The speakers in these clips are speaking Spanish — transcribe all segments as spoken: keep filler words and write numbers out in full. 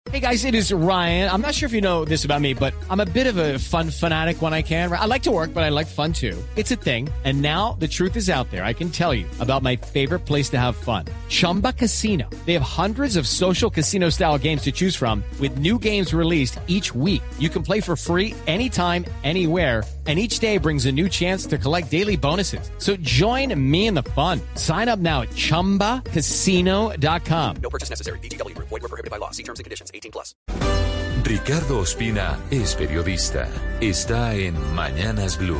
Hey guys, it is Ryan. I'm not sure if you know this about me, but I'm a bit of a fun fanatic when I can. I like to work, but I like fun too. It's a thing. And now the truth is out there. I can tell you about my favorite place to have fun. Chumba Casino. They have hundreds of social casino style games to choose from with new games released each week. You can play for free anytime, anywhere. And each day brings a new chance to collect daily bonuses. So join me in the fun. Sign up now at chumba casino dot com. No purchase necessary. V G W. Void where prohibited by law. See terms and conditions. eighteen plus. Ricardo Ospina es periodista. Está en Mañanas Blue.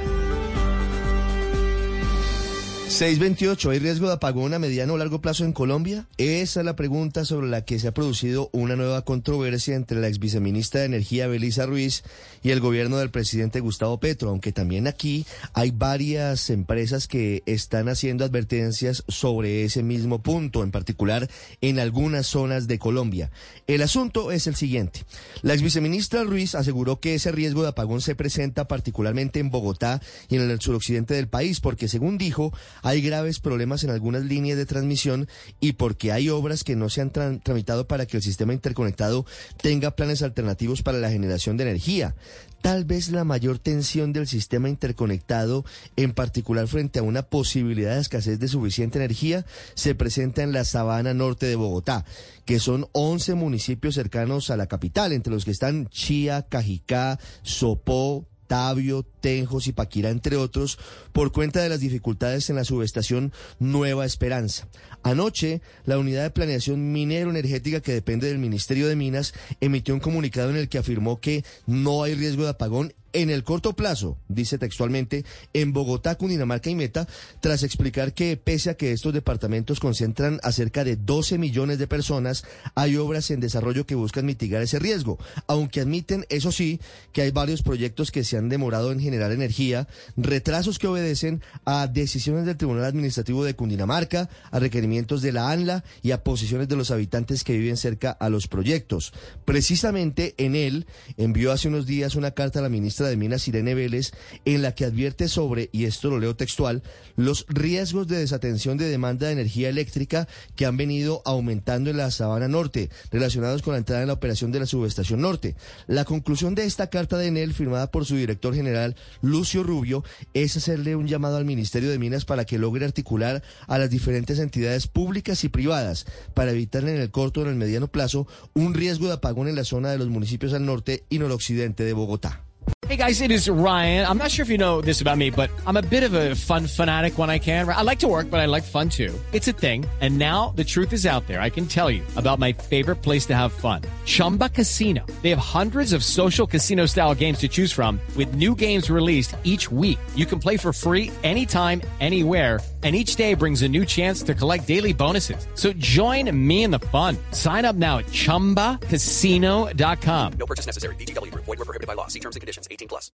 seis veintiocho, ¿hay riesgo de apagón a mediano o largo plazo en Colombia? Esa es la pregunta sobre la que se ha producido una nueva controversia entre la exviceministra de Energía, Belisa Ruiz, y el gobierno del presidente Gustavo Petro, aunque también aquí hay varias empresas que están haciendo advertencias sobre ese mismo punto, en particular en algunas zonas de Colombia. El asunto es el siguiente. La exviceministra Ruiz aseguró que ese riesgo de apagón se presenta particularmente en Bogotá y en el suroccidente del país, porque según dijo, hay graves problemas en algunas líneas de transmisión y porque hay obras que no se han tra- tramitado para que el sistema interconectado tenga planes alternativos para la generación de energía. Tal vez la mayor tensión del sistema interconectado, en particular frente a una posibilidad de escasez de suficiente energía, se presenta en la Sabana Norte de Bogotá, que son once municipios cercanos a la capital, entre los que están Chía, Cajicá, Sopó, Tabio, Tenjo, Zipaquirá, entre otros, por cuenta de las dificultades en la subestación Nueva Esperanza. Anoche, la Unidad de Planeación Minero-Energética, que depende del Ministerio de Minas, emitió un comunicado en el que afirmó que no hay riesgo de apagón en el corto plazo, dice textualmente, en Bogotá, Cundinamarca y Meta, tras explicar que pese a que estos departamentos concentran a cerca de doce millones de personas, hay obras en desarrollo que buscan mitigar ese riesgo, aunque admiten, eso sí, que hay varios proyectos que se han demorado en generar energía, retrasos que obedecen a decisiones del Tribunal Administrativo de Cundinamarca, a requerimientos de la ANLA y a posiciones de los habitantes que viven cerca a los proyectos. Precisamente en él envió hace unos días una carta a la ministra de Minas, Irene Vélez, en la que advierte sobre, y esto lo leo textual, los riesgos de desatención de demanda de energía eléctrica que han venido aumentando en la Sabana Norte, relacionados con la entrada en la operación de la subestación norte. La conclusión de esta carta de Enel, firmada por su director general, Lucio Rubio, es hacerle un llamado al Ministerio de Minas para que logre articular a las diferentes entidades públicas y privadas para evitar en el corto o en el mediano plazo un riesgo de apagón en la zona de los municipios al norte y noroccidente de Bogotá. Hey guys, it is Ryan. I'm not sure if you know this about me, but I'm a bit of a fun fanatic when I can. I like to work, but I like fun too. It's a thing. And now the truth is out there. I can tell you about my favorite place to have fun. Chumba Casino. They have hundreds of social casino style games to choose from with new games released each week. You can play for free anytime, anywhere. And each day brings a new chance to collect daily bonuses. So join me in the fun. Sign up now at chumba casino dot com. No purchase necessary. V G W. Void where prohibited by law. See terms and conditions. eighteen plus.